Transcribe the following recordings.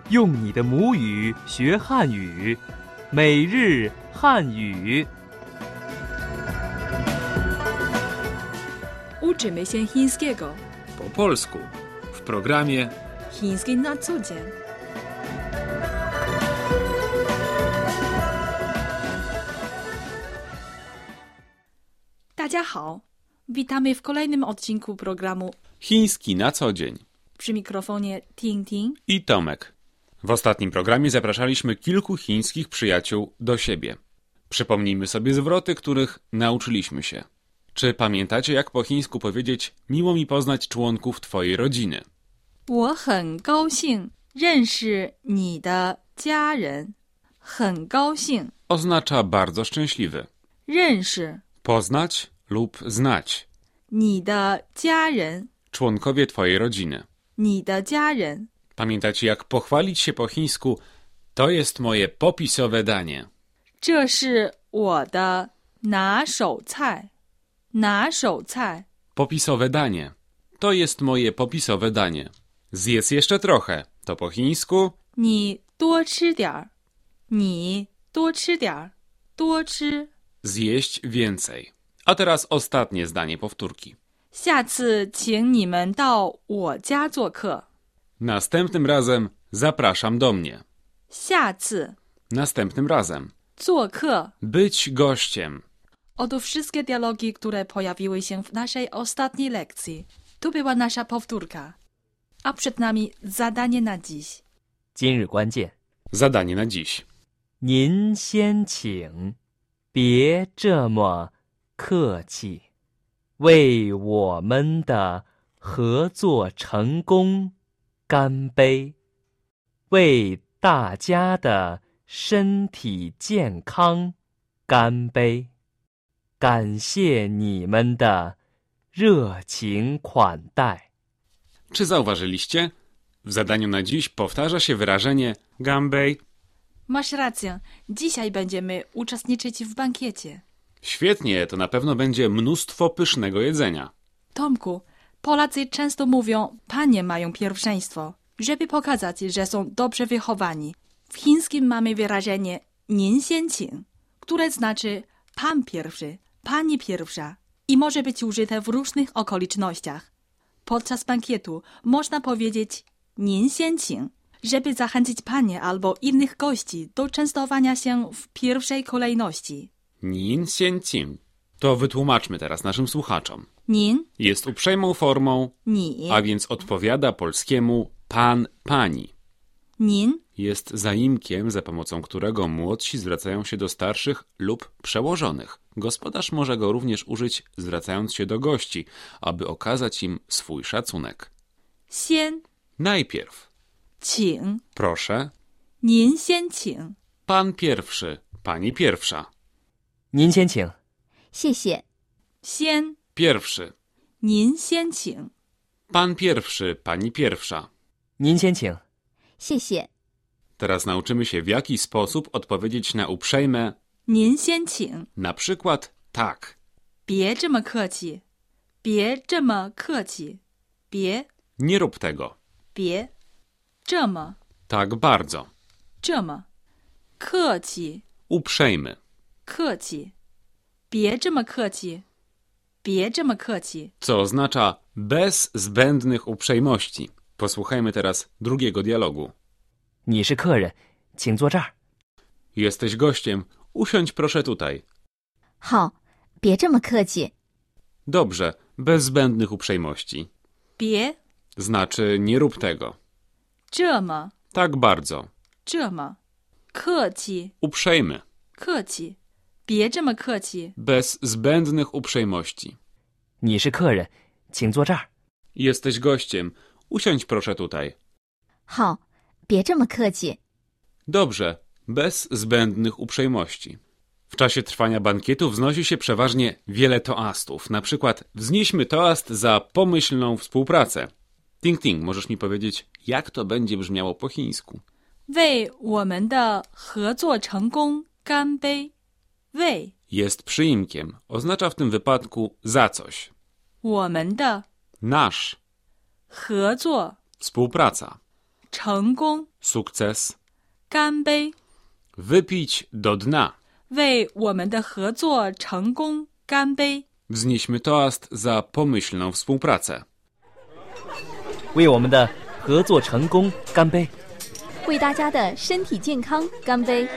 用你的母语学汉语，每日汉语。 Uczymy się chińskiego. Po polsku w programie Chiński na co dzień. Hao. Witamy w kolejnym odcinku programu Chiński na co dzień. Przy mikrofonie Ting Ting I Tomek. W ostatnim programie zapraszaliśmy kilku chińskich przyjaciół do siebie. Przypomnijmy sobie zwroty, których nauczyliśmy się. Czy pamiętacie, jak po chińsku powiedzieć miło mi poznać członków twojej rodziny? 我很高兴认识你的家人。很高兴 Oznacza bardzo szczęśliwy. 认识 Poznać lub znać. 你的家人 Członkowie twojej rodziny. 你的家人 Pamiętacie, jak pochwalić się po chińsku? To jest moje popisowe danie. 这是我的拿手菜。拿手菜 Popisowe danie. To jest moje popisowe danie. Zjedz jeszcze trochę. To po chińsku 你多吃点儿。你多吃点儿。多吃 zjeść więcej. A teraz ostatnie zdanie powtórki. 下次请你们到我家做客。 Następnym razem zapraszam do mnie. 下次 Następnym razem. 做客 Być gościem. Oto wszystkie dialogi, które pojawiły się w naszej ostatniej lekcji. Tu była nasza powtórka. A przed nami zadanie na dziś. 今日关键， Zadanie na dziś. 您先请，别这么客气，为我们的合作成功干杯，为大家的身体健康干杯，感谢你们的热情款待。 Czy zauważyliście? W zadaniu na dziś powtarza się wyrażenie ganbei. Masz rację. Dzisiaj będziemy uczestniczyć w bankiecie. Świetnie, to na pewno będzie mnóstwo pysznego jedzenia. Tomku, Polacy często mówią, panie mają pierwszeństwo, żeby pokazać, że są dobrze wychowani. W chińskim mamy wyrażenie 您先请, które znaczy pan pierwszy, pani pierwsza i może być użyte w różnych okolicznościach. Podczas bankietu można powiedzieć 您先请, żeby zachęcić panie albo innych gości do częstowania się w pierwszej kolejności. Nin xian qing. To wytłumaczmy teraz naszym słuchaczom. 您 Jest uprzejmą formą, 你 a więc odpowiada polskiemu pan, pani. 您 Jest zaimkiem, za pomocą którego młodsi zwracają się do starszych lub przełożonych. Gospodarz może go również użyć, zwracając się do gości, aby okazać im swój szacunek. 先 Najpierw, 请 proszę, 您先请 pan pierwszy, pani pierwsza. 您先请。 谢谢。 先 Pierwszy, 您先请 pan pierwszy, pani pierwsza. 您先请。 谢谢。 Teraz nauczymy się, w jaki sposób odpowiedzieć na uprzejme, 您先请 na przykład tak. 别这么客气别这么客气别 Nie rób tego. 别这么 Tak bardzo. 这么客气 Uprzejmy. 客气别这么客气别这么客气 Co oznacza bez zbędnych uprzejmości. Posłuchajmy teraz drugiego dialogu. 你是客人，请坐这儿。 Jesteś gościem. Usiądź proszę tutaj. 好，别这么客气。 Dobrze, bez zbędnych uprzejmości. 别 Znaczy nie rób tego. 这么 Tak bardzo. 这么客气 Uprzejmy. 客气别这么客气 Bez zbędnych uprzejmości. 你是客人，请坐这儿。 Jesteś gościem. Usiądź proszę tutaj. 好，别这么客气。 Dobrze, bez zbędnych uprzejmości. W czasie trwania bankietu wznosi się przeważnie wiele toastów. Na przykład wznieśmy toast za pomyślną współpracę. Ting Ting, możesz mi powiedzieć, jak to będzie brzmiało po chińsku? 为我们的合作成功干杯为 Jest przyimkiem. Oznacza w tym wypadku za coś. 我们的 Nasz. 合作 Współpraca. 成功 sukces, 干杯 wypić do dna. 为我们的合作成功干杯 Wznieśmy toast za pomyślną współpracę. 为我们的合作成功干杯！ 为大家的身体健康干杯！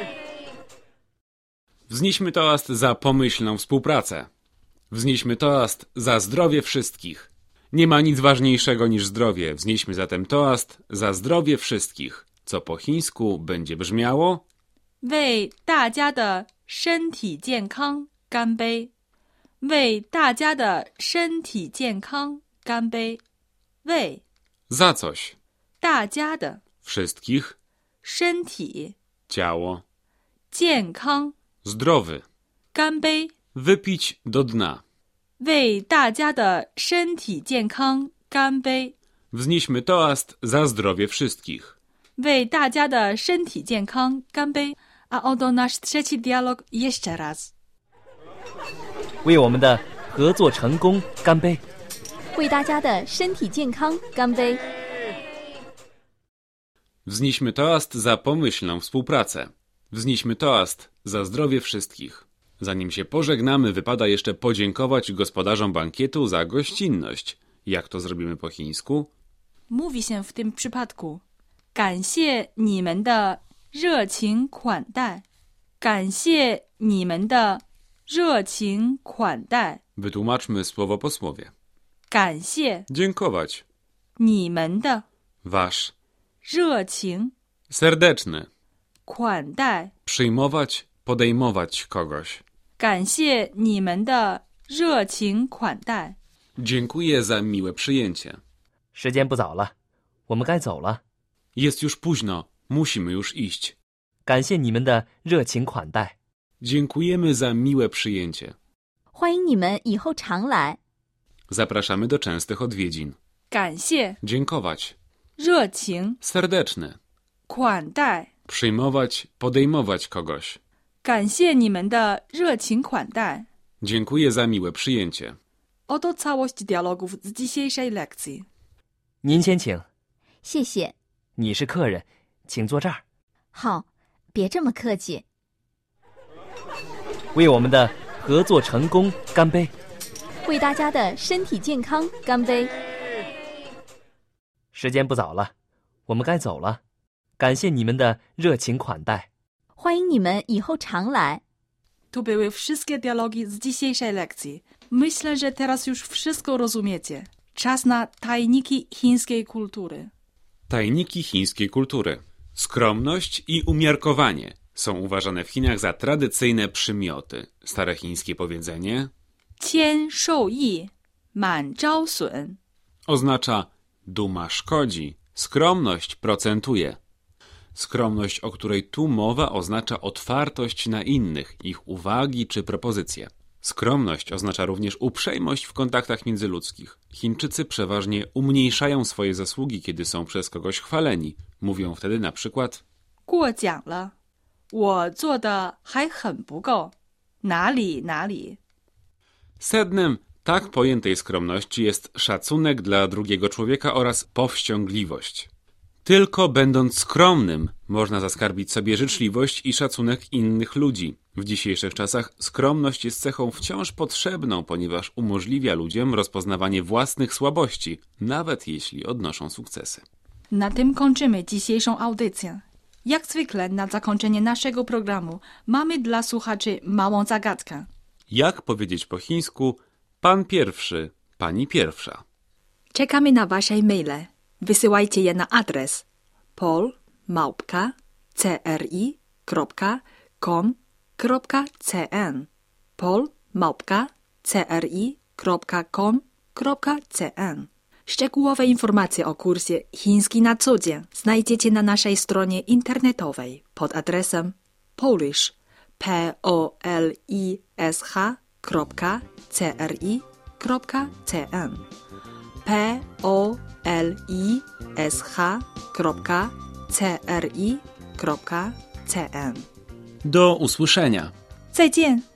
Wznieśmy toast za pomyślną współpracę. Wznieśmy toast za zdrowie wszystkich. Nie ma nic ważniejszego niż zdrowie. Wznieśmy zatem toast za zdrowie wszystkich, co po chińsku będzie brzmiało: 为大家的身体健康干杯！为大家的身体健康干杯！为 za coś. 大家的 Wszystkich, 身体 ciało, 健康 zdrowy. 干杯！ Wypić do dna. 为大家的身体健康干杯！ Wznieśmy toast za zdrowie wszystkich. 为大家的身体健康干杯！ A oto nasz trzeci dialog jeszcze raz. 为我们的合作成功干杯！ 为大家的身体健康干杯！ Wznieśmy toast za pomyślną współpracę. Wznieśmy toast za zdrowie wszystkich. Zanim się pożegnamy, wypada jeszcze podziękować gospodarzom bankietu za gościnność. Jak to zrobimy po chińsku? Mówi się w tym przypadku 感谢你们的热情款待感谢你们的热情款待 Wytłumaczmy słowo po słowie. 感谢 Dziękować. 你们的 Wasz. 热情 Serdeczny. 款待 Przyjmować, podejmować kogoś. 感谢你们的热情款待 Dziękuję za miłe przyjęcie. 时间不早了，我们该走了。 Jest już późno. Musimy już iść. 感谢你们的热情款待。 Dziękujemy za miłe przyjęcie. 欢迎你们以后常来。 Zapraszamy do częstych odwiedzin. 感谢 Dziękować. 热情 Serdeczny. 款待 Przyjmować, podejmować kogoś. 感谢你们的热情款待 Dziękuję za miłe przyjęcie. Oto całość dialogów z dzisiejszej lekcji. 您先请， 谢谢。 你是客人，请坐这儿。 好，别这么客气。 为我们的合作成功干杯！ 为大家的身体健康干杯！ 时间不早了，我们该走了。感谢你们的热情款待。 欢迎你们以后常来。 To były wszystkie dialogi z dzisiejszej lekcji. Myślę, że teraz już wszystko rozumiecie. Czas na tajniki chińskiej kultury. Tajniki chińskiej kultury. Skromność i umiarkowanie są uważane w Chinach za tradycyjne przymioty. Stare chińskie powiedzenie 谦受益满招损 oznacza duma szkodzi, skromność procentuje. Skromność, o której tu mowa, oznacza otwartość na innych, ich uwagi czy propozycje. Skromność oznacza również uprzejmość w kontaktach międzyludzkich. Chińczycy przeważnie umniejszają swoje zasługi, kiedy są przez kogoś chwaleni. Mówią wtedy na przykład 过奖了我做的还很不够哪里哪里 Sednem tak pojętej skromności jest szacunek dla drugiego człowieka oraz powściągliwość. Tylko będąc skromnym można zaskarbić sobie życzliwość i szacunek innych ludzi. W dzisiejszych czasach skromność jest cechą wciąż potrzebną, ponieważ umożliwia ludziom rozpoznawanie własnych słabości, nawet jeśli odnoszą sukcesy. Na tym kończymy dzisiejszą audycję. Jak zwykle na zakończenie naszego programu mamy dla słuchaczy małą zagadkę. Jak powiedzieć po chińsku pan pierwszy, pani pierwsza? Czekamy na wasze maile. Wysyłajcie je na adres pol@cri.com.cn pol@cri.com.cn Szczegółowe informacje o kursie Chiński na co dzień znajdziecie na naszej stronie internetowej pod adresem polish.cri.cn polish.cri.cn Do usłyszenia. 再见。